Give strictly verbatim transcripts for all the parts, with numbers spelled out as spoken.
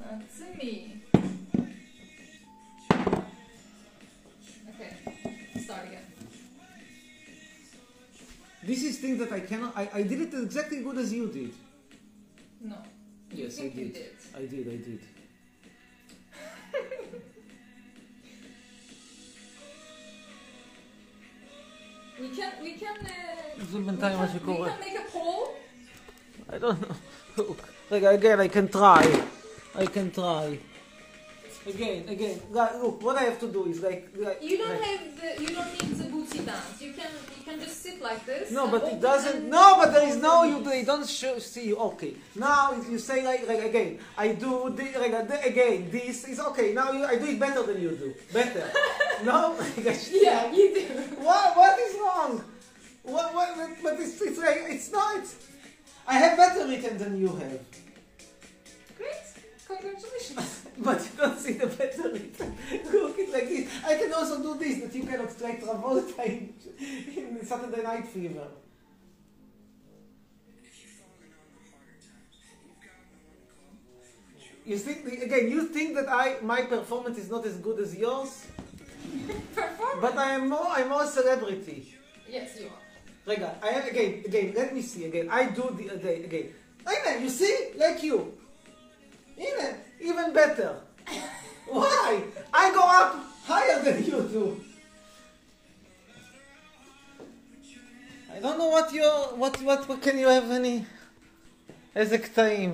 That's me. Okay, start again. This is thing that I cannot. I, I did it exactly good as you did. No. Yes, I think you did. did. I did. I did. We can. We can. Uh, זה we בינתיים מה can, we שקורה. can make a poll. I don't know. רגע, again, I can try. I can try. Again, again. Look, what I have to do is like. like You don't like, have the. You don't need the booty dance. You can. You can just sit like this. No, and but it open doesn't. and- No, but there is no. You they don't show, see you. Okay. Now if you say like, like again, I do the, like, the, again. This is okay. Now you, I do it better than you do. Better. No. Yeah, you do. What? What is wrong? What? What? But it's it's like it's not. It's, I have better written than you have. Great. Congratulations. But you don't see the better written. Look, it's like this. I can also do this that you cannot try Travolta in, in Saturday Night Fever. You think again? You think that I my performance is not as good as yours? Perform. But I am more. I'm more celebrity. Yes, you are. Rega, I have again. Again, let me see again. I do the again. Again. Again, you see, like you. Even even better. Why? I go up higher than you do. I don't know what you what what, what can you have any איזה קטעים.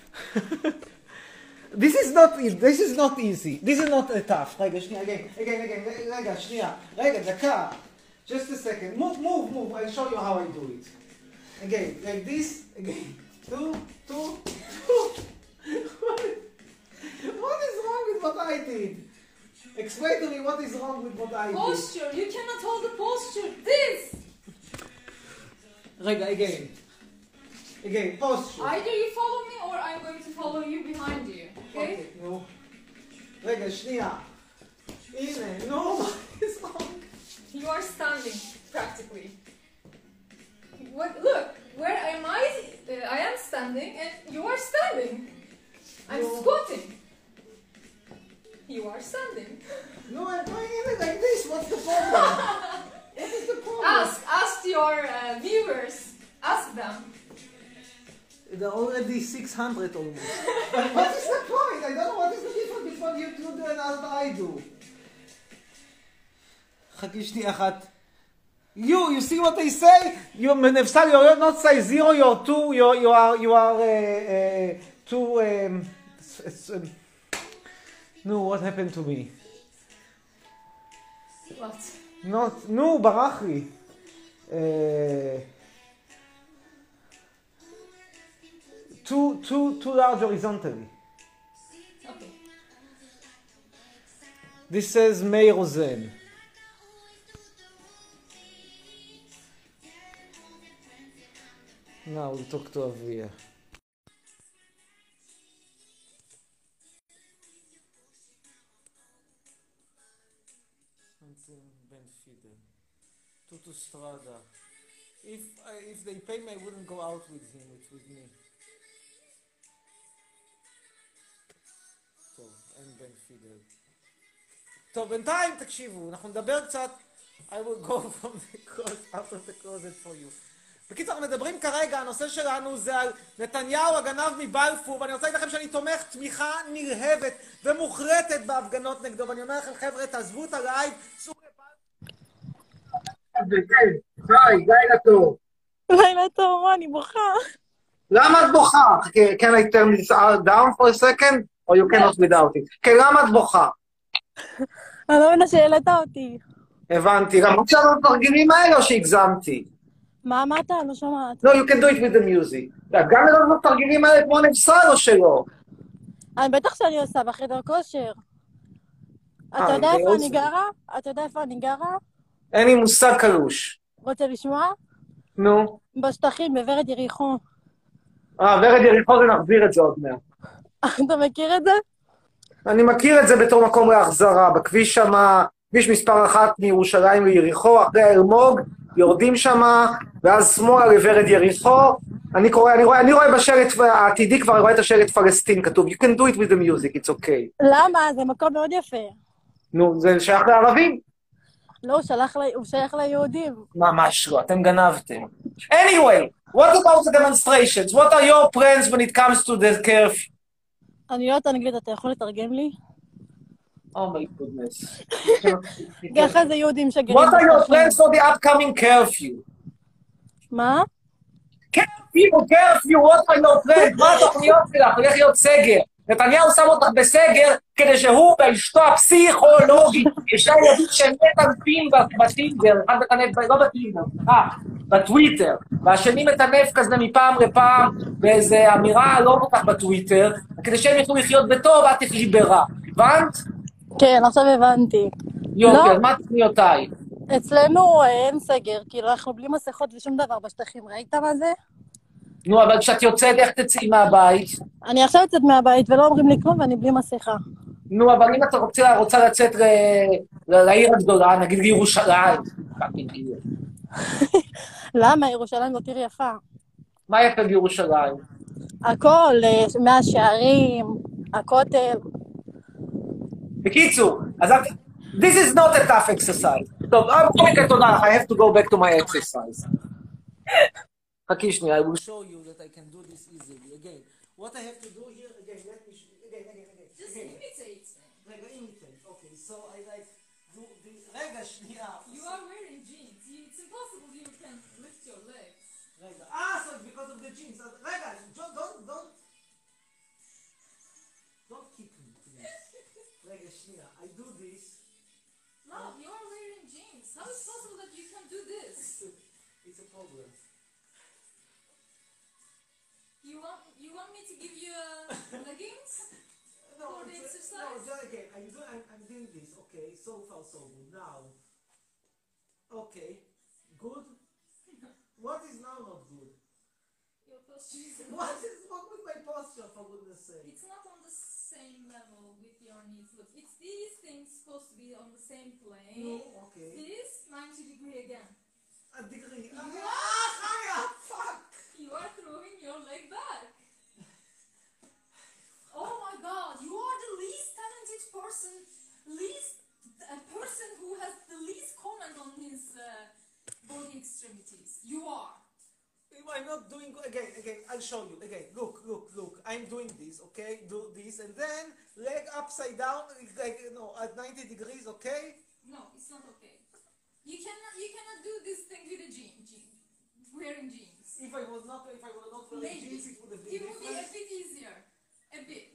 This is not this is not easy. This is not a tough. רגע, שנייה, again, again, again, רגע, שנייה. רגע, דקה. Just a second. Move, move, move. I'll show you how I do it. Again, like this. Again. Two, two, two. What is wrong with what I did? Explain to me what is wrong with what I did. Posture. You cannot hold the posture. This. רגע, again. Again, posture. Either you follow me or I'm going to follow you behind you. Okay? Okay, נו. רגע, שנייה. הנה, נו, what is wrong? You are standing practically. What? Look, where am I? Uh, I am standing, and you are standing. I'm No. squatting. You are standing. No, I'm going in it like this. What's the problem? What is the problem? Ask, ask your uh, viewers. Ask them. There are already six hundred almost. But what is the point? I don't know what is the difference between you two do and what I do. חכי שנייה אחת. You, you see what I say? You, Menefsal, you're not size zero, you're two, you're, you are, you are, uh, uh, two, um, s- um, no, what happened to me? What? Not, no, ברח לי. Uh, too, too, too large horizontally. Okay. This says May Rosen. Now we'll talk to Avia. Ben Fidel. Tutu Strada. If I, if they pay me, I wouldn't go out with him. It's with me. טוב, אין בן פידל. טוב, בינתיים תקשיבו, אנחנו נדבר קצת. I will go from the closet, out of the closet for you. בקיצור, אנחנו מדברים כרגע, הנושא שלנו זה על נתניהו הגנב מבלפור, ואני רוצה להגיד לכם שאני תומך תמיכה נרהבת ומוחרטת בהפגנות נגדו, ואני אומר לכם, חבר'ה, תעזבו את הלייב, צאו לבלפור. היי, לילה טוב. לילה טוב, אני בוכה. למה את בוכה? Can I turn this down for a second? Or you cannot without it? כן, למה את בוכה? אני לא מבינה שהעלית אותי. הבנתי, גם עכשיו התרגילים האלה או שהגזמתי? מה אמרת? אני לא שומעת. No, you can do it with the music. גם לראות התרגילים האלה כמו נפסל או שלא? אני בטח שאני עושה בחדר כושר. אתה יודע איפה אני גרה? אתה יודע איפה אני גרה? אין לי מושג קלוש. רוצה לשמוע? נו. בשטחים, בוורד יריחו. אה, ורד יריחו זה נחזיר את זה עוד מעט. אתה מכיר את זה? אני מכיר את זה בתור מקום להחזרה. בכביש שמה, כביש מספר אחת מירושלים ליריחו, אחרי האלמוג, יורדים שמה, ואז שמאלה לוורד יריחו, אני קורא, אני רואה, אני רואה בשלט העתידי כבר, אני רואה את השלט פלסטין כתוב, you can do it with the music, it's okay. למה? זה מקום מאוד יפה. נו, זה שייך לערבים? לא, הוא שלח לי- הוא שייך ליהודים. ממש לא, אתם גנבתם. Anyway, what about the demonstrations? What are your plans when it comes to the curfew? אני לא יודעת אנגלית, אתה יכול לתרגם לי? Oh my goodness. ככה זה יהודים שגרים What are your בשטחים. plans for the upcoming curfew? מה? curfew, curfew, what are your plans? מה התוכניות שלך? הולך להיות סגר. נתניהו שם אותך בסגר כדי שהוא ואשתו הפסיכולוגית, יש להם ילדים שהם מטנפים בטינדר, אחד מטנף, לא בטינדר, סליחה, בטוויטר, והשני מטנף כזה מפעם לפעם באיזה אמירה לא כל כך בטוויטר, כדי שהם יוכלו לחיות בטוב, את תחי ברע. הבנת? כן, עכשיו הבנתי. יופי, לא. אז מה תוכניותיי? אצלנו אה, אין סגר, כאילו אנחנו בלי מסכות ושום דבר בשטחים, ראית מה זה? נו, אבל כשאת יוצאת, איך תצאי מהבית? אני עכשיו יוצאת מהבית ולא אומרים לי כלום ואני בלי מסכה. נו, אבל אם אתה רוצה, רוצה לצאת ל- ל- לעיר הגדולה, נגיד לירושלים, פאקינג עיר. למה? ירושלים זאת עיר יפה. מה יפה בירושלים? הכל, אה, מהשערים, הכותל. בקיצור, אז את... This is not a tough exercise. טוב, בואי נקרא תודה לך, I have to go back to my exercise. חכי שנייה, I will show you that I can do this easily. Again, what I have to do here, again, let me show you, again, again, again. Just again. imitate. רגע, imitate, okay, so I like do this, רגע, שנייה. You are wearing jeans. You- It's impossible you can lift your legs. רגע, אה, so it's because of the jeans. אז רגע, don't, don't, don't, don't kick me, please. רגע, שנייה, I do this. No, you are wearing jeans. How is it possible that you can do this? It's a problem. You want you want me to give you uh, leggings? No, For the it's- exercise? No, just again, I'm, do, I'm, I'm doing this, okay, so far so good. Now, okay, good. What is now not good? Your posture is What is wrong with my posture, for goodness sake? It's not on the same level with your knees. Look, it's these things supposed to be on the same plane. No, okay. This ninety degree again. A degree. You Ah, Chaya, fuck! You are throwing your leg back. Oh my God! You are the least talented person, least a person who has the least comment on his uh, body extremities. You are. I'm not doing, again, again, I'll show you, again, look, look, look, I'm doing this, okay, do this, and then leg upside down, like, no, at ninety degrees, okay? No, it's not okay. You cannot. You cannot do this thing with a jean. jean wearing jeans. If I was not, if I were not wearing Maybe. jeans, it would have It been would be a different. bit easier. A bit.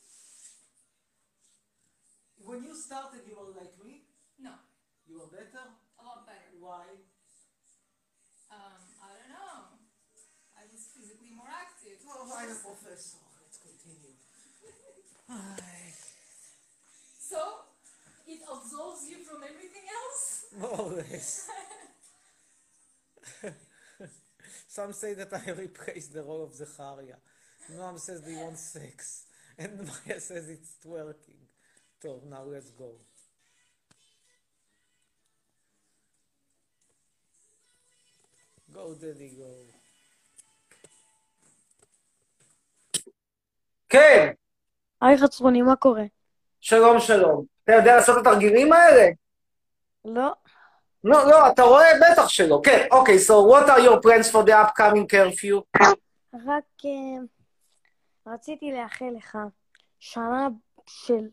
When you started, you were like me, No, you were better, a lot better. why? Um, I don't know. I was physically more active. Oh, I'm a professor, let's continue. So, it absolves you from everything else? More or less. Some say that I replaced the role of Zecharia. Noam says they want sex. And Maya says it's twerking. So now let's go. Go, Daddy, go. כן, היי חצרוני, מה קורה? שלום שלום. אתה יודע לעשות את התרגילים האלה? לא. לא, לא, אתה רואה? בטח שלא. כן, אוקיי, so what are your plans for the upcoming curfew? רק אה, רציתי לאחל לך שנה של...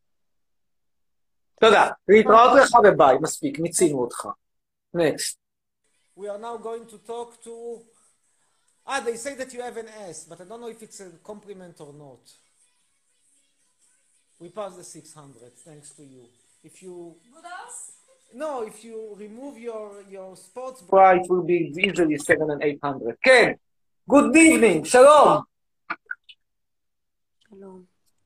תודה. להתראות לך וביי, מספיק, מיצינו אותך. Next. We are now going to talk to... Ah, they say that you have an S, but I don't know if it's a compliment or not. We passed the six hundred, thanks to you. If you... Good ass? No, if you remove your, your sports bra, it will be easily seven and eight hundred. כן, good evening, שלום. שלום.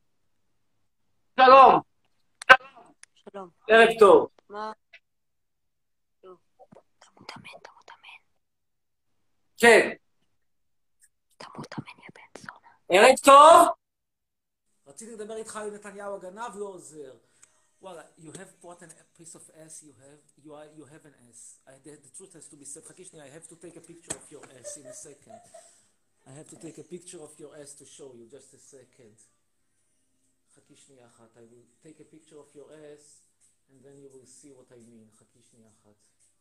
שלום. שלום. ערב טוב. מה? לא. אתה מותאמן, אתה מותאמן. כן. אתה מותאמן, יא בן זונה. ערב טוב. רציתי לדבר איתך על נתניהו הגנב, לא עוזר. וואלה, you have what a piece of ass you have, you, are, you have an ass. I, the, the truth has to be said. חכי שנייה, I have to take a picture of your ass in a second. I have to take a picture of your ass to show you, just a second. חכי שנייה אחת. I will take a picture of your ass and then you will see what I mean. חכי שנייה אחת.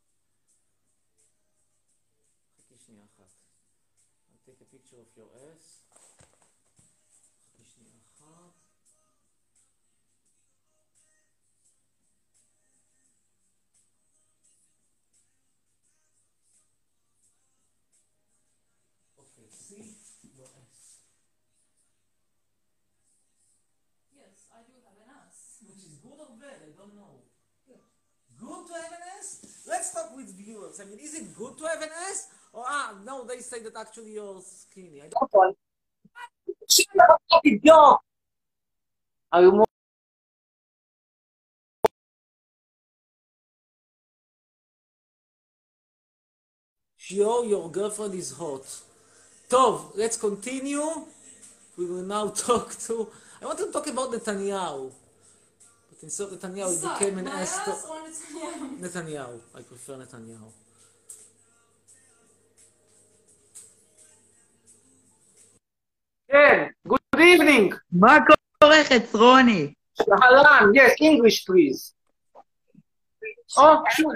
חכי שנייה אחת. I'll take a picture of your ass. חכי שנייה אחת. Okay, see your ass. Yes, I do have an ass. Which is good or bad? I don't know. Good. Good to have an ass? Let's talk with viewers. I mean, is it good to have an ass? Or, ah, no, they say that actually you're skinny. I don't Are you more sure your girlfriend is hot? Tov, let's continue. We will now talk to... I want to talk about Netanyahu. But instead of Netanyahu, it Decide, became an my ass... ass or Netanyahu? Netanyahu. I prefer Netanyahu. כן, good evening. מה קורה, חצרוני? אהלן, yes, English please. או, שוב.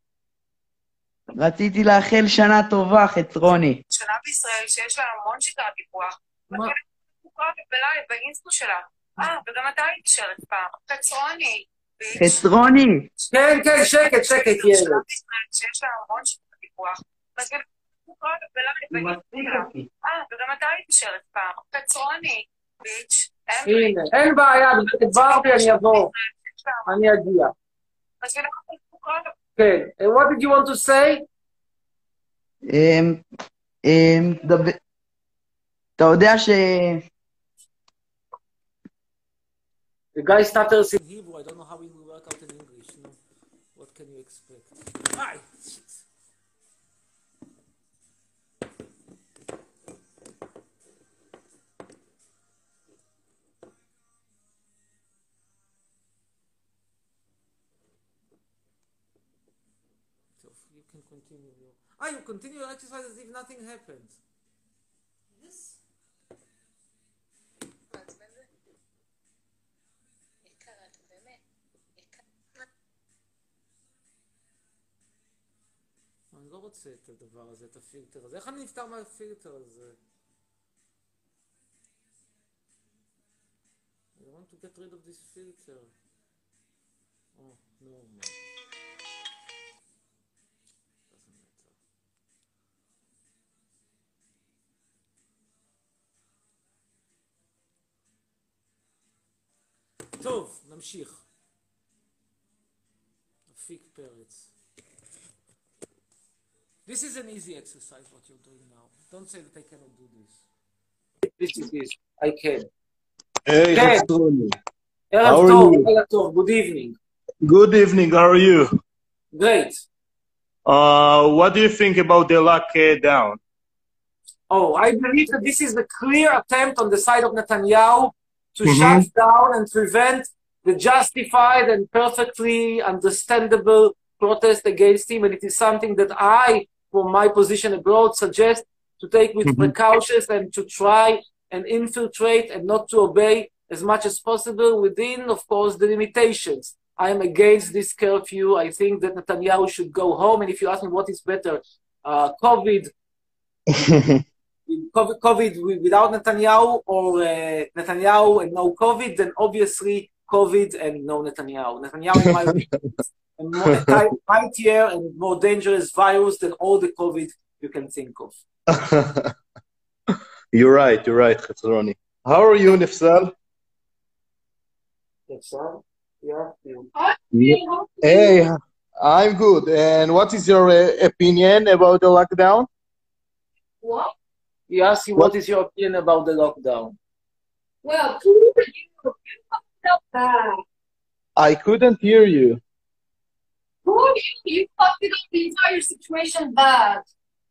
רציתי לאחל שנה טובה, חצרוני. שנה בישראל שיש לה המון שיטת דיווח. מה? בלייב, באינסטו שלה. אה, וגם אתה היית שרת פעם. חצרוני. חצרוני. כן, כן, שקט, שקט, ילד. שנה בישראל שיש לה המון שיטת דיווח. בלייב, באינסטו שלה. אה, וגם אתה היית שרת פעם. חצרוני. ביץ'. הנה, אין בעיה, ברבי, אני אבוא. אני אגיע. כן, what did you want to say? אמ, אמ, דבר- אתה יודע ש... The guy stutters In Hebrew, I don't know how it will work out in English. No. What can you expect? Hi! Shit. So you can continue your... Ah, you continue your exercise as if nothing happened. Yes. אני לא רוצה את הדבר הזה, את הפילטר הזה. איך אני נפטר מהפילטר הזה? I want to get rid of this filter. Oh, no, man. Doesn't matter. טוב, נמשיך. אפיק פרץ. This is an easy exercise, what you're doing now. Don't say that I cannot do this. This is this. I can. Hey, כן. Xtroni. ערב How are טוב, you? ערב טוב, good evening. Good evening. How are you? Great. Uh, what do you think about the lockdown? Oh, I believe that this is the clear attempt on the side of Netanyahu to Mhm. shut down and prevent the justified and perfectly understandable protest against him. And it is something that I, from my position abroad, suggest to take with Mhm. precautions and to try and infiltrate and not to obey as much as possible within, of course, the limitations. I am against this curfew. I think that Netanyahu should go home. And if you ask me what is better, uh, COVID, COVID, COVID without Netanyahu or uh, Netanyahu and no COVID, then obviously COVID and no Netanyahu. Netanyahu, in my opinion, is a more a ti- mightier and more dangerous virus than all the COVID you can think of. You're right. You're right, Xtroni. How are you, Nifsal? Yes, sir. Yeah. Hey, I'm good. And what is your uh, opinion about the lockdown? What? He asked you, what is your opinion about the lockdown? Well, you, you fucked up bad. I couldn't hear you. Who you? You fucked it up the entire situation bad.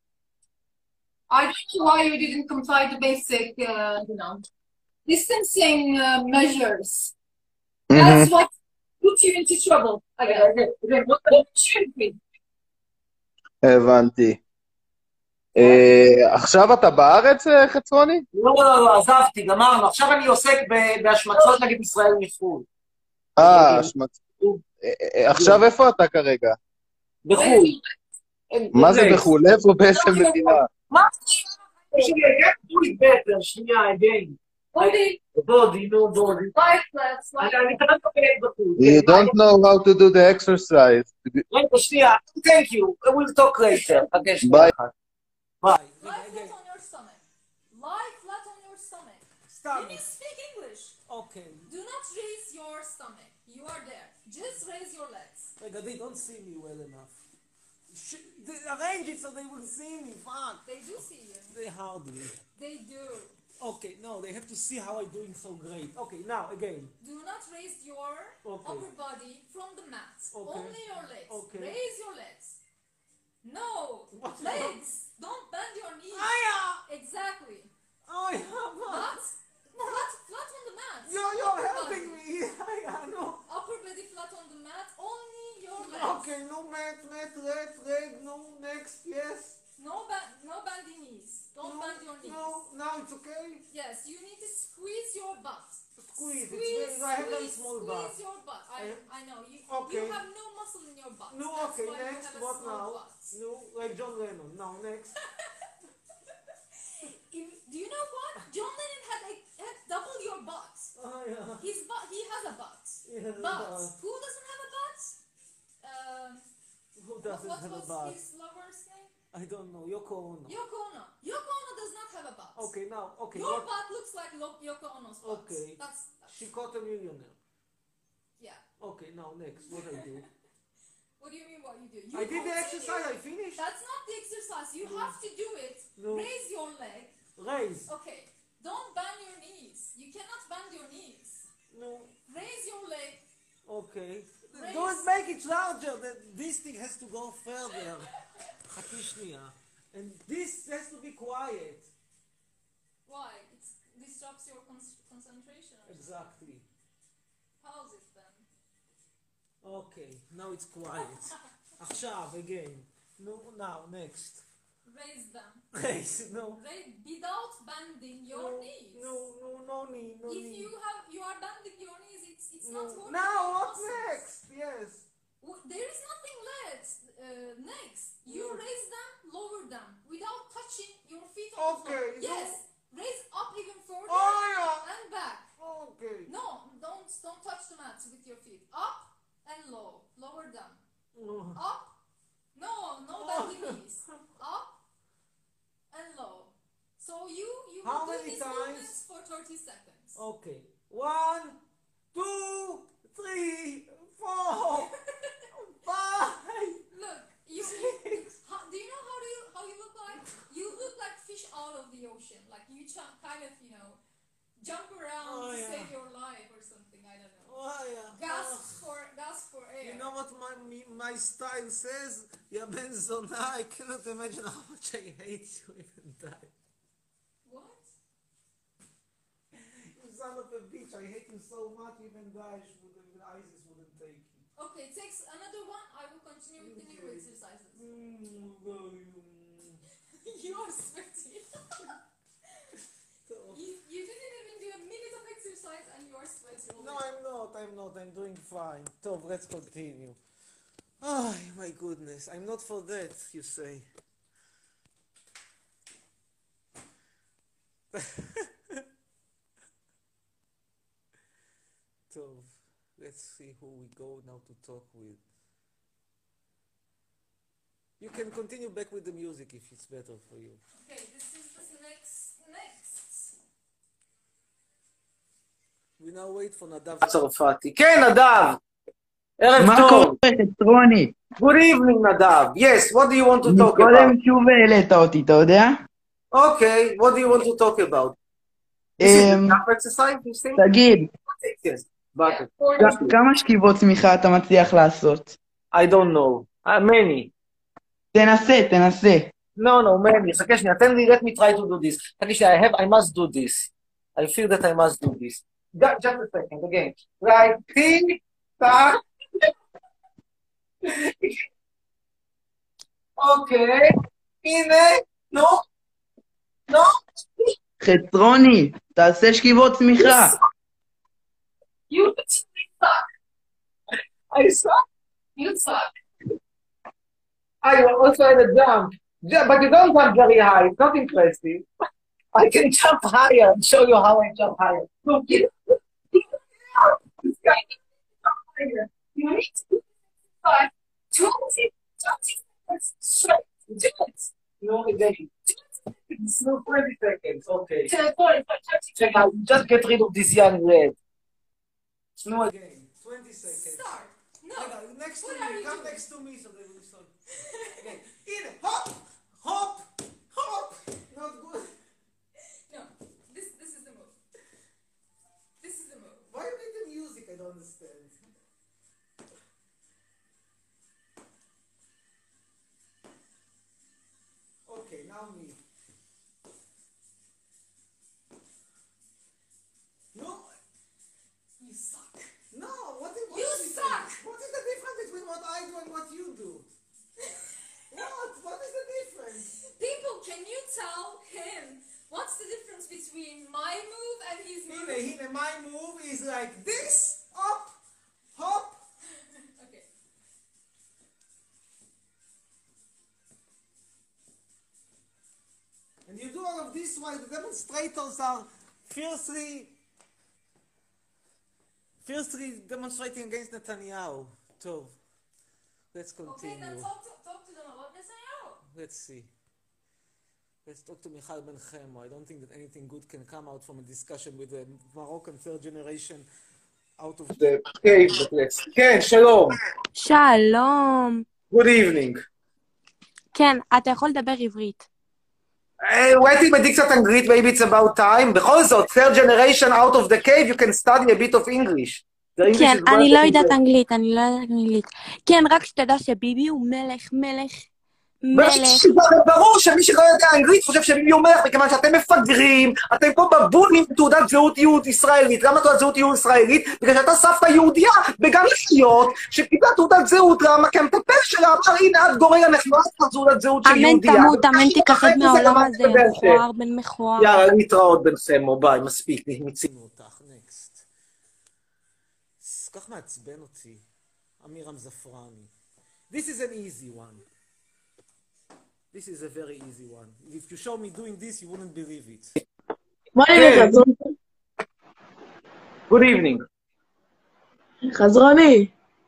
I don't know why you didn't comply to basic, uh, you know, distancing uh, measures. That's what put you into trouble. Again, what put you in? הבנתי. אה, עכשיו אתה בארץ, אה, חצרוני? לא, לא, לא, עזבתי, גמרנו. עכשיו אני עוסק ב- בהשמצות נגד ישראל מחו"ל. אה, השמצ... אה, אה, עכשיו איפה אתה כרגע? בחו"ל. מה זה רגע. בחו"ל? איפה? באיזה מדינה? מה? שנייה, get do it better, שנייה, again. בודי, בודי, נו, בודי. life flags, אני life אני כרגע מדבר בחו"ל. You don't know how to do the exercise. רגע, שנייה, thank you, we'll talk later. חכה שנייה ביי. אחת. ביי. Lie flat on your stomach. Lie flat on your stomach. Can Stomach. you speak English? Okay. Do not raise your stomach. You are there. Just raise your legs. רגע, they don't see me well enough. Sh- they arrange it so they will see me, fuck. They do see you. They hardly. They do. Okay, no, they have to see how I'm doing so great. Okay, now, again. Do not raise your Okay. upper body from the mat. Okay. Only your legs. Okay. Raise your legs. No, What? legs. Don't bend your knees. Aya! Exactly. Oh, yeah, Flat, flat, flat on the mat. You're, you're Upper helping body. me. Aya, no. Upper body flat on the mat. Only your legs. Okay, no mat, mat, red, leg, no, next, yes. No bend, no bending knees. Don't No, bend your knees. no, now it's okay. Yes, you need to squeeze your butt. Squeeze, it's Squeeze, very, I have very squeeze, small squeeze butt. your butt. I, I- I know. You, Okay. you have no muscle in your butt. No, That's okay, why you next, have a what small now? butt. No, like John Lennon. Now, next. If- do you know what? John Lennon had, a, had double your butt. Oh, yeah. His butt, he has a butt. He has a But butt. who doesn't have a butt? Um, Who what, doesn't what have a was butt? his lover's name? I don't know. Yoko Ono. Yoko Ono. Yoko Ono does not have a butt. Okay, now, okay. Your What? butt looks like Lo- Yoko Ono's butt. Okay. That's, that's She caught a millionaire. yeah. Okay, now next. What I do? What do you mean what you do? You I did the continue. exercise. I finished. That's not the exercise. You have to do it. No. Raise your leg. Raise. Okay. Don't bend your knees. You cannot bend your knees. No. Raise your leg. Okay. Raise. Don't make it larger. That this thing has to go further. חכי שנייה. And this has to be quiet. Why? It disrupts your con- concentration. or something. Exactly. Pause it then. Okay. Now it's quiet. עכשיו, again. No, now, next. Raise them. Raise. No. Raise without bending your no, knees. No, no, no knee, no If knee. you have you are bending your knees, it's it's no. not working. Now, your what muscles. next? Yes. W- There is nothing left. Uh, next, you No. raise them, lower them without touching your feet on Okay, the floor. no. Yes, raise up even further Oh, yeah. and back. Okay. No, don't don't touch the mat with your feet. Up and low, lower them. No. Up, no, no bending knees. Up and low. So you you How will do many these times? movements for thirty seconds. Okay. One, two, three, four, five. Look, you, Six. how, do you know how do you how you look like? You look like fish out of the ocean. Like you ch- kind of, you know, jump around Oh, to yeah. save your life or something. I don't know. Oh, yeah. Gasp for gasp for air. You know what my me- my style says? יא בן זונה, I cannot imagine how much I hate you even die. What? You son of a bitch, I hate you so much even Daesh wouldn't, even ISIS wouldn't take you. Okay, takes another one. I will continue with the new Okay. exercises. Mm, very, mm. You are sweaty. you, you didn't even do a minute of exercise and you are sweaty. No, I'm not, I'm not, I'm doing fine. טוב, let's continue. Oh, my goodness, I'm not for that, you say. טוב, let's see who we go now to talk with. You can continue back with the music if it's better for you. Okay, this is the next next. We now wait for Nadav. צרפתי. כן, נדב! ערב מה טוב. קורה, חצרוני? Good evening, נדב. Yes, what do you want to talk מקודם about? שוב העלית אותי, אתה יודע? Okay, what do you want to talk about? This is אמ, enough exercise, you think? תגיד, Yes, but כ- כמה שכיבות צמיחה אתה מצליח לעשות? I don't know. Uh, many. תנסה, תנסה. No, no, many. חכה שנייה, תן לי, let me try to do this. חכה שנייה, I have, I must do this. I feel that I must do this. Ju- Just a second, again. Right, tick, tack. אוקיי, הנה, No, no. חצרוני, תעשה שכיבות צמיחה. You suck. I suck. You suck. I also had a jump. Yeah, but you don't jump very high. It's not impressive. I can jump higher and show you how I jump higher. Look, you, this guy can jump higher. You need to do five, twenty, twenty seconds straight. Do it. No, again. It's no twenty seconds. Okay. To forty-five, thirty Check out. Just get rid of this young red. No, again. Again, twenty seconds. Start. No. רגע, next to What are me, you come doing? next to me so they will start. Again, הנה, hop, hop, hop. Not good. No. This this is the move. This is the move. Why you need the music? I don't understand. Okay, now me. No. You suck. No, what is, what You is the suck. difference? What is the difference between what I do and what you do? What? What is the difference? People, can you tell him what's the difference between my move and his move? Hine, hine, my move is like this, up, hop. Okay. And you do all of this while the demonstrators are fiercely, fiercely demonstrating against Netanyahu. So, let's Okay, continue. then talk to, talk to them about Netanyahu. Let's see. Let's talk to Michal Ben Chemo. I don't think that anything good can come out from a discussion with a Moroccan third generation out of The cave, but let's... כן, שלום. שלום. Good evening. כן, אתה יכול לדבר עברית. Uh, אולי תלמדי קצת אנגלית, maybe it's about time. בכל זאת, third generation out of the cave, you can study a bit of English. The English כן, is אני worth לא it. יודעת אנגלית, אני לא יודעת אנגלית. כן, רק שתדע שביבי הוא מלך, מלך, מלך. מלך. ברור שמי שלא יודע אנגלית חושב שביבי הוא מלך, מכיוון שאתם מפגרים, אתם פה בבונים עם תעודת זהות יהוד ישראלית. למה תעודת זהות יהוד ישראלית? בגלל שאתה סבתא יהודייה בגן לחיות, שקיבלה תעודת זהות, למה? כי המטפל שלה אמר, הנה את גוריה נחמד תעודת זהות של אמן יהודייה. תמות, אמן תיכחד מהעולם הזה, מכוער בן מכוער. יאללה, להתראות בן סמו, ביי, מספיק, מיצינו אותך, נקסט. כך מעצבן אותי, אמירם זפרני. This is an easy one. This is a very easy one. If you show me doing this, you wouldn't believe it. בוא נראה, חזרוני. Good evening. חזרוני.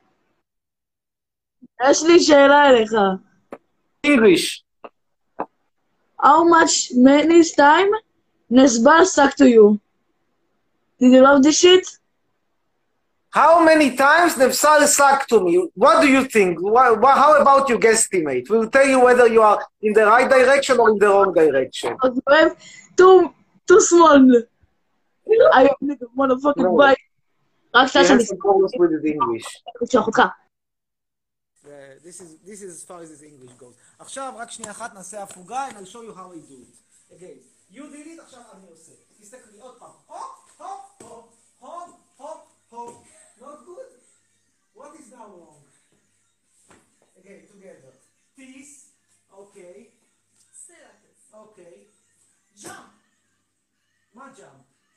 יש לי שאלה אליך. English. How much many time נסבל suck to you? Did you love this shit? How many times Nefsal sucked to me? What do you think? What, what, how about you guesstimate? We'll tell you whether you are in the right direction or in the wrong direction. אז אוהב, too, too small. I need a motherfucking No. bite. רק You שעה have שאני some problems with the English. אשלח אותך. Uh, this is this is as far as this English goes. עכשיו רק שנייה אחת נעשה הפוגה and I'll show you how I do it. Again, you did it, עכשיו אני עושה. תסתכלי עוד פעם. הופ, הופ, הופ, הופ, הופ, הופ. Not good? What is now wrong? Again, together. This, okay, Stay like this. okay. Jump. מה jump?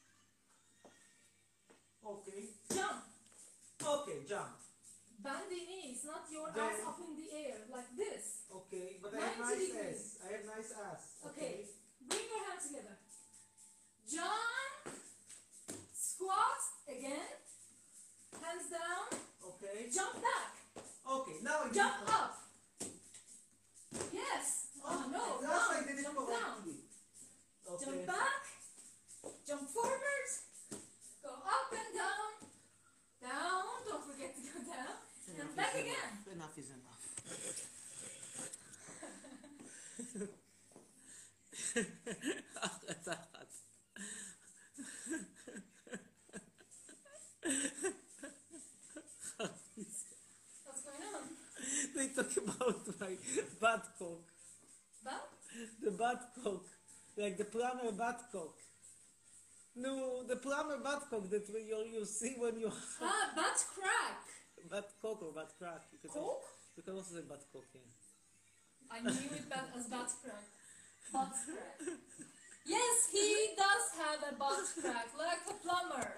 Okay, Jump. okay, jump. Bend the knees, not your Then- ass up in the air, like this. Okay, but I have ninety nice degrees. ass. I have nice ass. Okay. Bring your hands together. Jump. Squat. Again. Hands down. Okay. Jump back. Okay, now I Jump do it. up. Yes. Oh, no. Last Down. I did it Jump down. correctly. Okay. Jump back. Jump forward. Go up and down. Down. Don't forget to go down. And back again. Enough is enough. אחת אחת. What's going on? They talk about my butt cock. Back? The butt cock. Like the plumber butt cock. No, the plumber butt cock that you, you see when you... Ah, butt crack. butt cock or butt crack. You can, Cock? you can also say butt cock, yeah. I knew it ba- as butt crack. Butt crack. Yes, he does have a butt crack, like a plumber.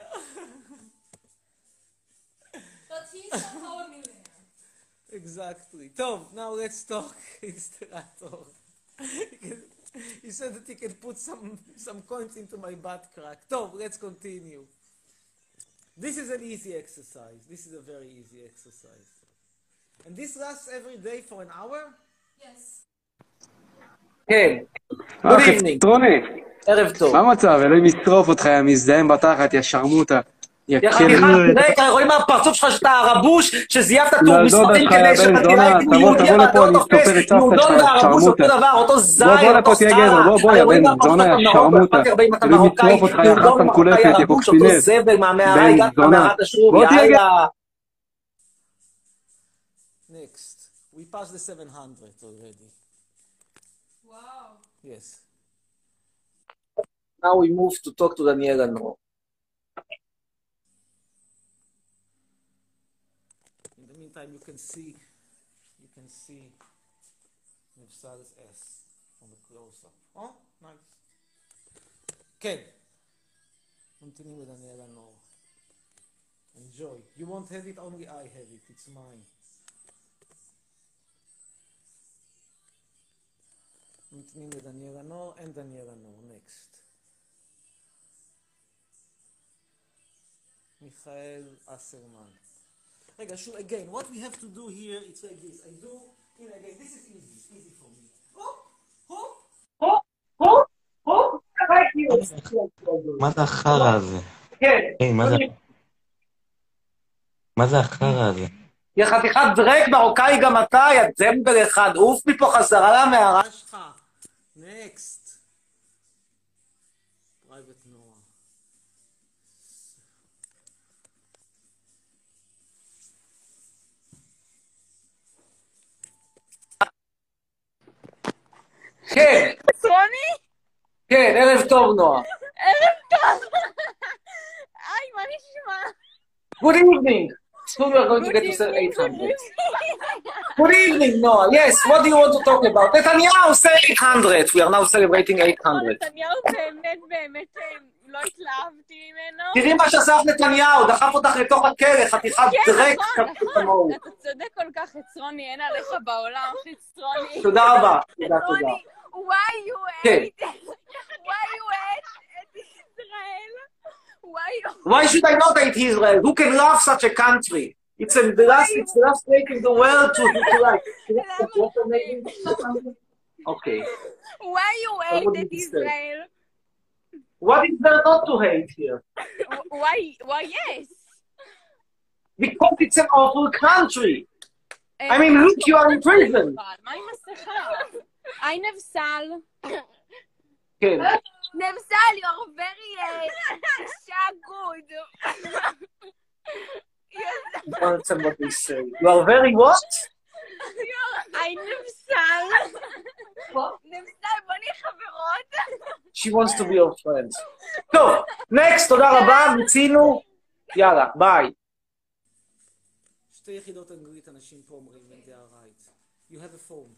But he's somehow a millionaire. Exactly. Tov, now let's talk Installator. He said that he can put some, some coins into my butt crack. Tov, let's continue. This is an easy exercise. This is a very easy exercise. And this lasts every day for an hour? Yes. כן. אה, Good evening. חצרוני, ערב טוב. מה המצב? אלוהים ישרוף אותך, יא מזדהם בתחת, יא שרמוטה. יא יא כלב. חתיכה, תראה, רואים מהפרצוף שלך שאתה הרבוש, שזייפת טור לדודה מספרים שלך, יא כדי בן שאתה זונה, תראה כאילו תבוא, יהודי, תבוא אבל לפה, אתה אני לא אסתופר תופס. את סבתא יהודון שלך, יא והרבוש אותו שרמוטה. דבר, אותו בוא, זין, בוא אותו לפה, תהיה גבר, סטרה. בוא, בוא, הרי יא רואים בן מהפרצוף זונה, שלך יא ממרוקו, שרמוטה. אכפת לי הרבה אם אתה אלוהים מרוקאי, ישרוף אותך, יא יהודון חסן מרוקאי קולפת, יא הרבוש, אותו קוקסינל. זבל מהמערה, בן הגעת זונה. למערת השוב, בוא תהיה גבר. יאללה. Next. We passed the seven hundred already. Wow. Yes. Now we move to talk to Daniela Nor. In the meantime, you can see, you can see Nefsal's S from the close-up. Oh, nice. כן. ממתינים לדניאלה נור. Enjoy. You won't have it, only I have it. It's mine. ממתינים לדניאלה נור and דניאלה נור. Next. מיכאל אסרמן. רגע, שוב, again, what we have to do here, it's like this. I do, you know, again, this is easy, easy for me. Hop, hop. הופ, הופ, הופ, מה זה החרא הזה? כן. היי, מה זה... מה זה החרא הזה? יא חתיכת דרק מרוקאי גם אתה, יא זמבל אחד, עוף מפה חזרה למערה שלך. Next. Private Noah. כן, חצרוני? כן, ערב טוב נועה. ערב טוב. היי, מה נשמע? Good evening. Soon we are going to get to say eight hundred. Good evening, Noah. Yes, what do you want to talk about? נתניהו, say eight hundred. We are now celebrating eight hundred. נתניהו באמת באמת לא התלהבתי ממנו. תראי מה שעשה נתניהו, דחף אותך לתוך הכלא, חתיכת דרק. כן, נכון, נכון. אתה צודק כל כך, חצרוני, אין עליך בעולם, חצרוני. תודה רבה. תודה, תודה. Why you hate? Why you hate את ישראל? Why you... Why should I not hate Israel? Who can love such a country? It's in the last, it's the last place in the world to, to like. Okay. Why you hate את ישראל? What is there not to hate here? Why? Why yes? Because it's an awful country. I mean, look, you are in prison. מה עם מסכה? היי נבסל. כן. נבסל, you're very אישה good. I don't understand what they say. You are very what? היי נבסל. נבסל, בוא נהיה חברות. She wants to be your friend. טוב, next, תודה רבה, מיצינו. יאללה, ביי. שתי יחידות אנגלית אנשים פה אומרים, and they are right. You have a phone.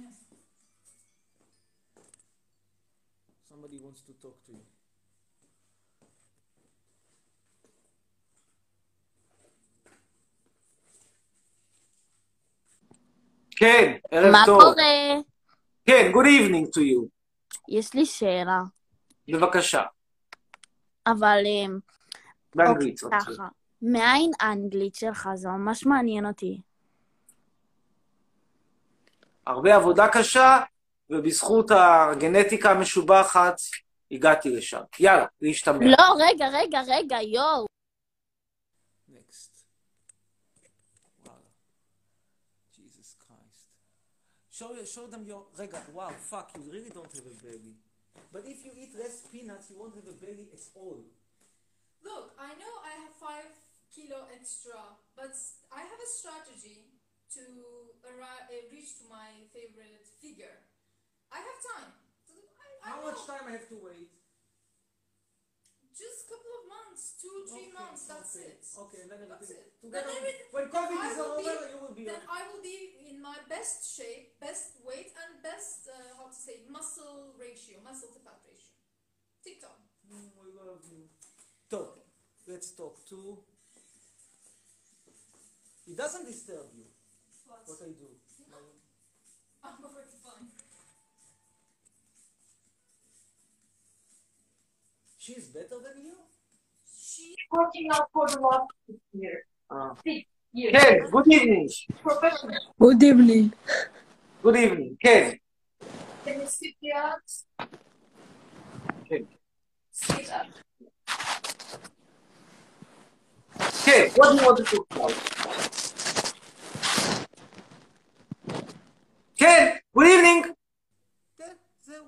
Somebody wants to talk to you. כן, ערב מה טוב. קורה? כן, good evening to you. יש לי שאלה, בבקשה, אבל באנגלית. אוקיי, ככה. מאין האנגלית שלך? זה ממש מעניין אותי. הרבה עבודה קשה, ובזכות הגנטיקה המשובחת, הגעתי לשם. יאללה, להשתמע. לא, רגע, רגע, רגע, יואו. Next. Wow. Jesus Christ. Show, show them your... רגע, wow, fuck, you really don't have a belly. But if you eat less peanuts, you won't have a belly at all. Look, I know I have five kilo extra, but I have a strategy to arrive, uh, reach to my favorite figure. I have time. I, I How know. much time I have to wait? Just a couple of months, two, three Okay, months, that's okay, it. Okay, then That's everything. it. Together, Then everything- when COVID I is will over, be- you will be. Then I will be in my best shape, best weight, and best, uh, how to say, muscle ratio, muscle to fat ratio. TikTok. Mm, we love you. Talk. Let's talk too. It doesn't disturb you What? what I do. I'm perfectly fine. She's better than you? She's Working out for the last six years. Uh, six years. Ken, good evening. Professional. Good evening. Good evening. Ken. Can you sit there? Ken. Sit up. Ken, what do you want to talk about? Ken, good evening. כן, זהו.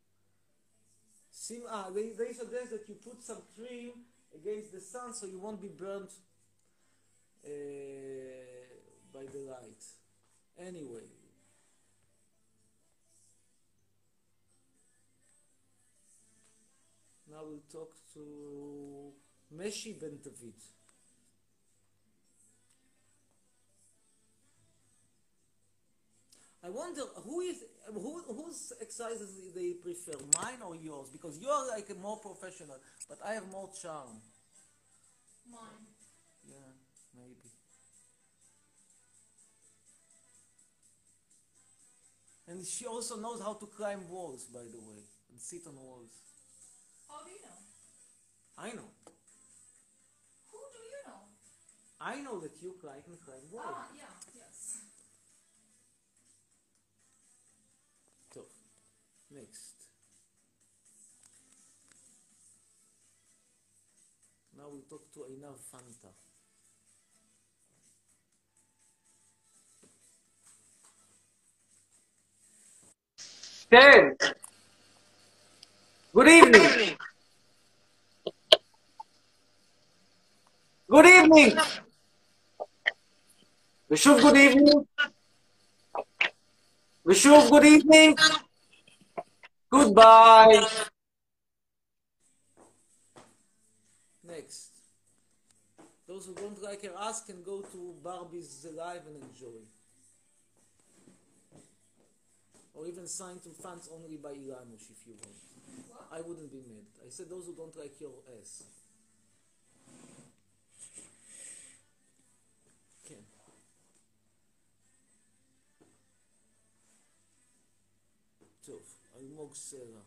שים, ah, they, they suggest that you put some cream against the sun so you won't be burnt uh, by the light. Anyway. Now we'll talk to Meshi Ben David. I wonder who is who whose exercises they prefer, mine or yours? Because you are like a more professional, but I have more charm. Mine. Yeah, maybe. And she also knows how to climb walls, by the way, and sit on walls. How do you know? I know. Who do you know? I know that you climb and climb walls. Ah, yeah, yes. So, next. Now we talk to Einar Fanta. Ken. Good evening. Good evening. ושוב good evening. ושוב good evening. Goodbye. Next. Those who don't like her ask can go to Barbie's Live and enjoy. Or even sign to fans only by Ilanush if you want. What? I wouldn't be mad. I said those who don't like your ass. כן. טוב, אלמוג סלע.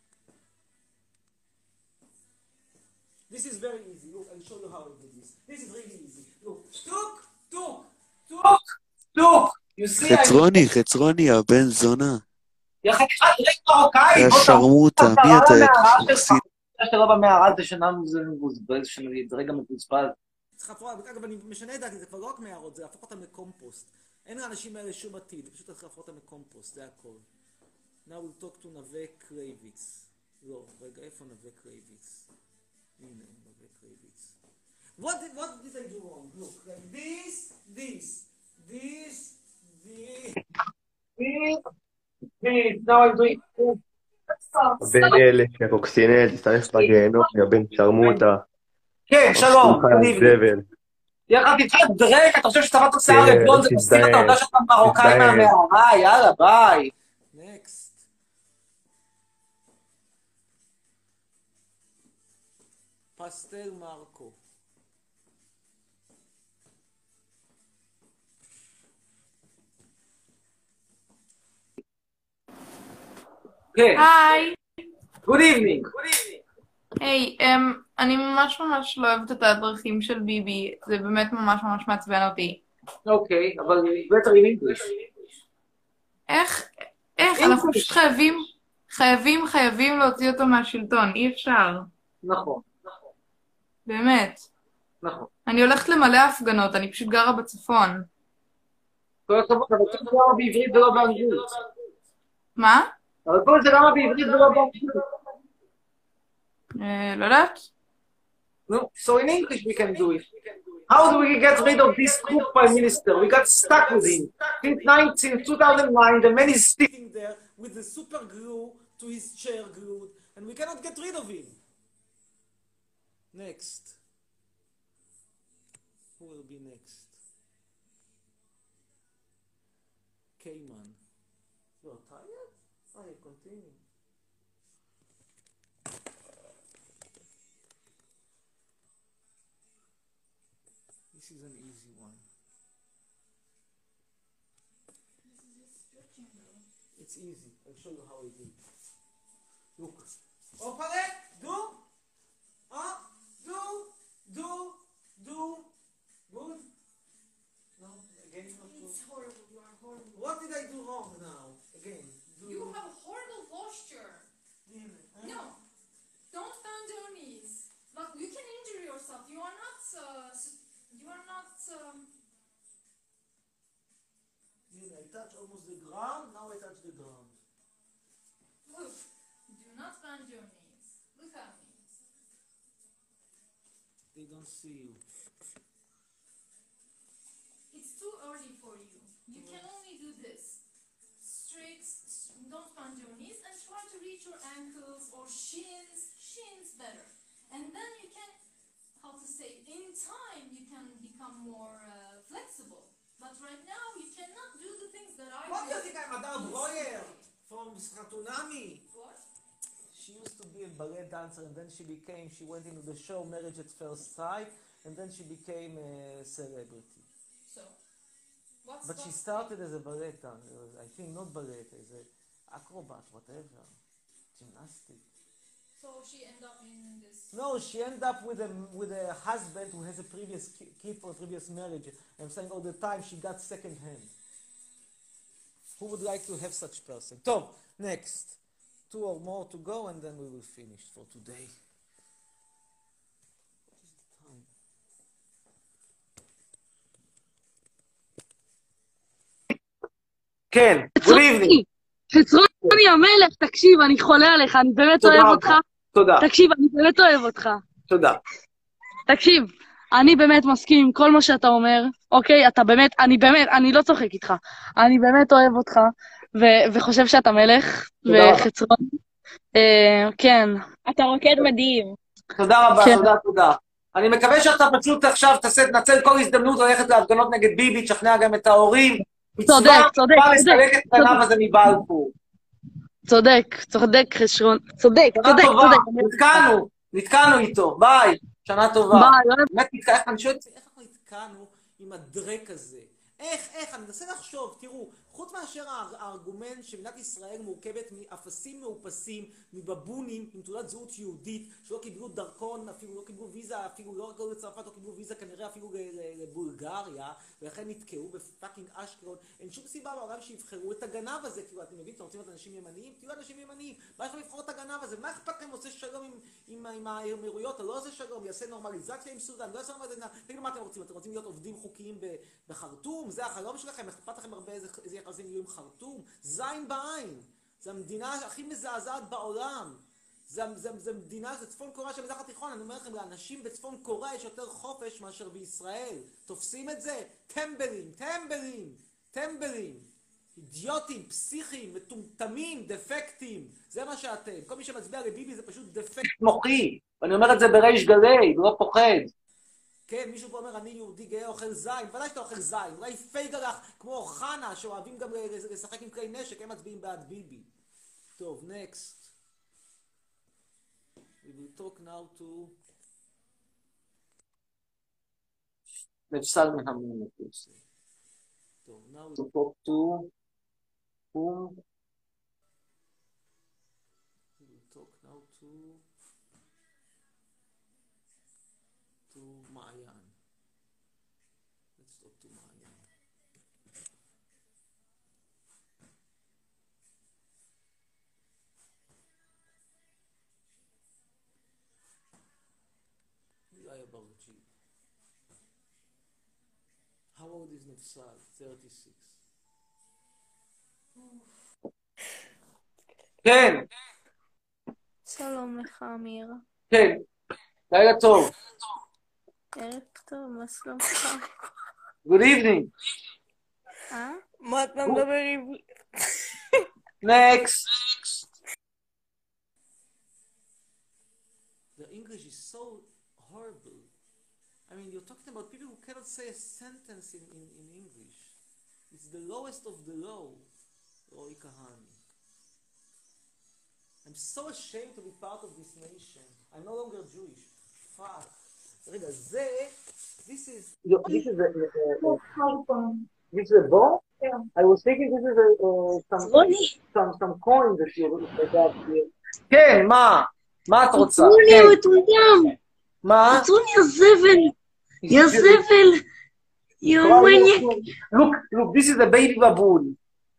This is very easy. Look, I'll show you how I do this. This is really easy. Look, טוק, טוק, טוק. Look, you see, I... חצרוני, חצרוני, הבן זונה. יא חתיכת ריק מרוקאי, יא בוא שרמוטה, תעבור מי אתה? למערה שלך. כוסית. שאתה לא במערה זה שנה זה מבוזבז, זה רגע מבוזבז. צריך לפרוע, אגב, אני משנה את דעתי, זה כבר לא רק מערות, זה להפוך אותם לקומפוסט. אין לאנשים האלה שום עתיד, פשוט צריך להפוך אותם לקומפוסט, זה הכל. Now we'll talk to נווה קרייביץ. לא, רגע, איפה נווה קרייביץ? הנה, נווה קרייביץ. What did, what did I do wrong? Look, like this, this, this, this. This, now I'm doing... באלף, יא קוקסינל, תסתלף בגיהנום, יא בן שרמוטה. כן, שלום. זבל. יא חתיכת דרק, אתה חושב שצבעת שיער לבלונד, זה מסתיר, אתה יודע שאתה מרוקאי מהמערה, יאללה, ביי. Next. פסטל מרקו. כן. היי. Good evening. היי, אני ממש ממש לא אוהבת את הדרכים של ביבי, זה באמת ממש ממש מעצבן אותי. אוקיי, אבל better in English. איך, איך, אנחנו פשוט חייבים, חייבים, חייבים להוציא אותו מהשלטון, אי אפשר. נכון. באמת. נכון. אני הולכת למלא הפגנות, אני פשוט גרה בצפון. כל הכבוד, אבל כל זה למה בעברית ולא באנגלית? מה? אבל כל זה למה בעברית ולא באנגלית? לא יודעת. No, so in English we can do it. How do we get rid of this crook prime minister? We got stuck with him. Since nineteen, two thousand nine, the man is sitting there with the super glue to his chair glued, and we cannot get rid of him. Next. Who will be next? Cayman. You are tired? I continue. This is an easy one. It's easy. I'll show you how I do it. Look. Operate. Do. Up. Do. Do. Do. Good. No. Again. Not do. It's horrible. You are horrible. What did I do wrong now? Again. Do. You have a horrible posture. Really? Huh? No. Don't bend your knees. But you can injure yourself. You are not. Uh, s- you are not. Um, I touch almost the ground. Now I touch the ground. look. Do not bend your knees. Look at me. They don't see you. It's too early for you. You can only do this. Straight. s- Don't bend your knees and try to reach your ankles or shins. Shins better. And then you can, how to say, in time you can become more uh, flexible. But right now you cannot do the things that I What do you do. think I'm Adar Breuer from Stratunami? What? She used to be a ballet dancer and then she became, she went into the show Marriage at First Sight and then she became a celebrity. So, what's But she what's- started as a ballet dancer, I think not ballet, as a acrobat, whatever, gymnastic. So she ended up in this. No, she ended up with a, with a husband who has a previous ki- kid for a previous marriage. I'm saying all the time she got second hand. Who would like to have such person? Tom, next. Two or more to go and then we will finish for today. What is the time? כן, good evening. חצרוני המלך, תקשיב, אני חולה עליך, אני באמת תודה אוהב רבה. אותך. תודה. תקשיב, אני באמת אוהב אותך. תודה. תקשיב, אני באמת מסכים עם כל מה שאתה אומר, אוקיי? אתה באמת, אני באמת, אני לא צוחק איתך. אני באמת אוהב אותך, ו- וחושב שאתה מלך, תודה רבה. וחצרוני. אה, כן. אתה רוקד מדהים. תודה רבה, כן. תודה, תודה. אני מקווה שאתה פשוט עכשיו תעשה, תנצל כל הזדמנות ללכת להפגנות נגד ביבי, תשכנע גם את ההורים. צודק, מצווה צודק, מצווה צודק, לסלק את הגנב הזה מבלפור. צודק, צודק, חשרון, צודק, שנה צודק, טובה, צודק. נתקענו, נתקענו איתו, ביי, שנה טובה. ביי, אוהב. באמת נתקע, איך אני שואל את זה? איך אנחנו נתקענו עם הדרק הזה? איך, איך, אני מנסה לחשוב, תראו, חוץ מאשר האר- הארגומנט שמדינת ישראל מורכבת מאפסים מאופסים, מבבונים עם תעודת זהות יהודית, שלא קיבלו דרכון, אפילו לא קיבלו ויזה, אפילו לא רק לצרפת, לא קיבלו ויזה כנראה אפילו ל- ל- לבולגריה, ולכן נתקעו בפאקינג אשקלון. אין שום סיבה בעולם שיבחרו את הגנב הזה, כאילו, אתם מבינים, אתם רוצים להיות אנשים ימניים? תהיו אנשים ימניים, מה יש לכם לבחור את הגנב הזה? מה אכפת לכם עושה שלום עם, עם, עם האמירויות? או לא עושה שלום, יעשה נורמליזציה עם סודן, לא יעשה נורמליזציה, תגידו מה אתם רוצים, אתם רוצים להיות עובדים חוקיים ב- בחרטום? זה החלום שלכם? אכפת לכם הרבה איזה, איזה יחסים יהיו עם חרטום? זין בעין. זו המדינה הכי מזעזעת בעולם. זה, זה, זה מדינה, זה צפון קוריאה של מזרח התיכון. אני אומר לכם, לאנשים בצפון קוריאה יש יותר חופש מאשר בישראל. תופסים את זה? טמבלים, טמבלים, טמבלים. אידיוטים, פסיכים, מטומטמים, דפקטים. זה מה שאתם. כל מי שמצביע לביבי זה פשוט דפקט מוחי, ואני אומר את זה בריש גלי, לא פוחד. כן, מישהו פה אומר, אני יהודי גאה אוכל זין, ודאי שאתה אוכל זין, אולי פייגלח כמו חנה, שאוהבים גם לשחק עם כלי נשק, הם מצביעים בעד ביבי. טוב, next. We will talk now to... נפסל מהמינוס. טוב, now To talk to whom? we will talk now to... to מעיין. Let's talk to מעיין. Ilya Barchi. How old is Nefsal? thirty-six. כן, שלום לך, אמיר. כן, לילה טוב. ערב טוב, מה שלומך? Good evening. אה? מה אתה מדבר עברית? Next. The English is so I mean, you're talking about people who cannot say a sentence in, in, in English. It's the lowest of the low, Roy Kahani. I'm so ashamed to be part of this nation. I'm no longer Jewish. Fuck. רגע, זה, this is... This is a... This is a ball? I was thinking this is a... some, some, some coin that you got here. כן, מה? מה את רוצה? עצרו לי, הוא מטומטם. מה? עצרו לי, יא זבל. יא זבל. יא מניאק. Look, look, this is a baby baboon.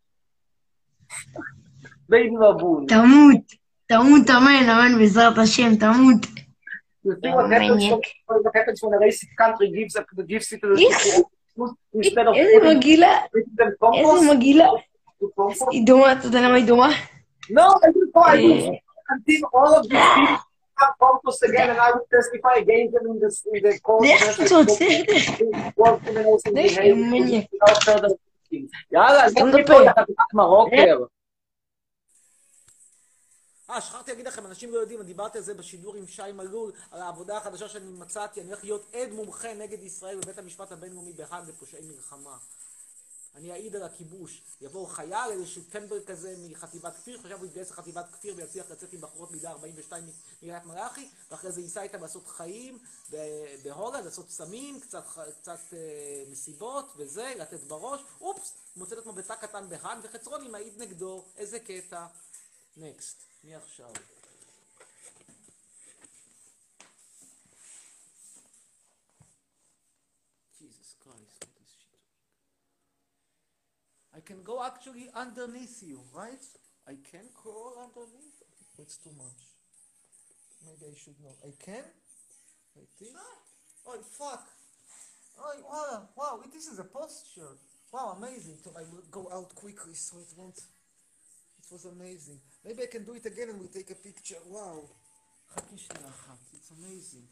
Baby baboon. תמות. תמות, אמן, אמן, בעזרת השם, תמות. You see what happens, when, what happens when a racist country gives, a, gives it to the people instead of איזה מגעילה. איזה מגעילה. היא דומה, אתה יודע למה היא דומה? No, I will try to until all of these people have compost again and I will testify against them in the, in the court. לך תוצא. לך מניאק. יאללה, אז אני פה לחתיכת מרוקר. אה, שכחתי להגיד לכם, אנשים לא יודעים, דיברתי על זה בשידור עם שי מלול, על העבודה החדשה שאני מצאתי, אני הולך להיות עד מומחה נגד ישראל בבית המשפט הבינלאומי בהאג לפושעי מלחמה. אני אעיד על הכיבוש. יבוא חייל, איזשהו טמבל כזה מחטיבת כפיר, חשב הוא יתגייס לחטיבת כפיר ויצליח לצאת עם בחורות מידה ארבעים ושתיים מקריית מלאכי, ואחרי זה ייסע איתם לעשות חיים בהולנד, לעשות סמים, קצת, קצת אה, מסיבות וזה, לתת בראש. אופס, הוא מוצא את עצמו בתא קטן בהאג, וחצרוני מעיד נגדו. איזה קטע. נקסט. מי עכשיו? Jesus Christ, what is she doing? I can go actually underneath you, right? I can crawl underneath? It's too much. Maybe I should not. I can? Like this? Oh, fuck! Oh, wow, wow, this is a posture. Wow, amazing. So I will go out quickly so it won't... It was amazing. Maybe I can do it again and we'll take a picture. Wow. חכי שנייה אחת. It's amazing.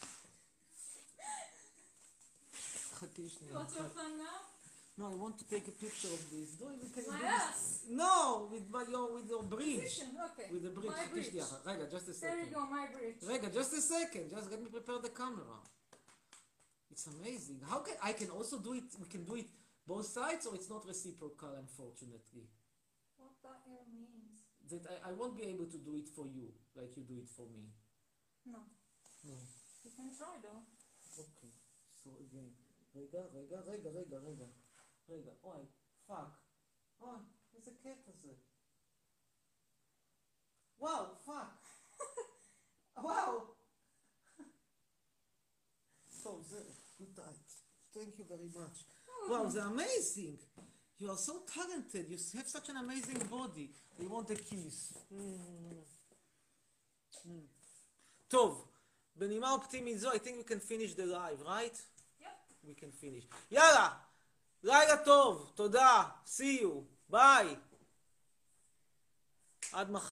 חכי שנייה אחת. What's your plan now? No, I want to take a picture of this. Do it, we can My do this. ass. No, with my, your, with your bridge. Position, okay. With the bridge. My חכי bridge. שנייה אחת. רגע, just a second. There you go, my bridge. רגע, just a second. Just let me prepare the camera. It's amazing. How can, I can also do it, we can do it both sides or it's not reciprocal, unfortunately. What that here means? That I, I won't be able to do it for you, like you do it for me. No. No. You can try though. Okay. So again. רגע, רגע, רגע, רגע, רגע. רגע, אוי, פאק. אוי, איזה קטע זה. וואו, פאק. וואו. So, זה, good night. Thank you very much. Wow, זה amazing. You are so talented. You have such an amazing body. We want a kiss. Mm. Mm. טוב, בנימה אופטימית זו, I think we can finish the live, right? Yep. We can finish. יאללה, לילה טוב, תודה, see you, ביי. עד מחר.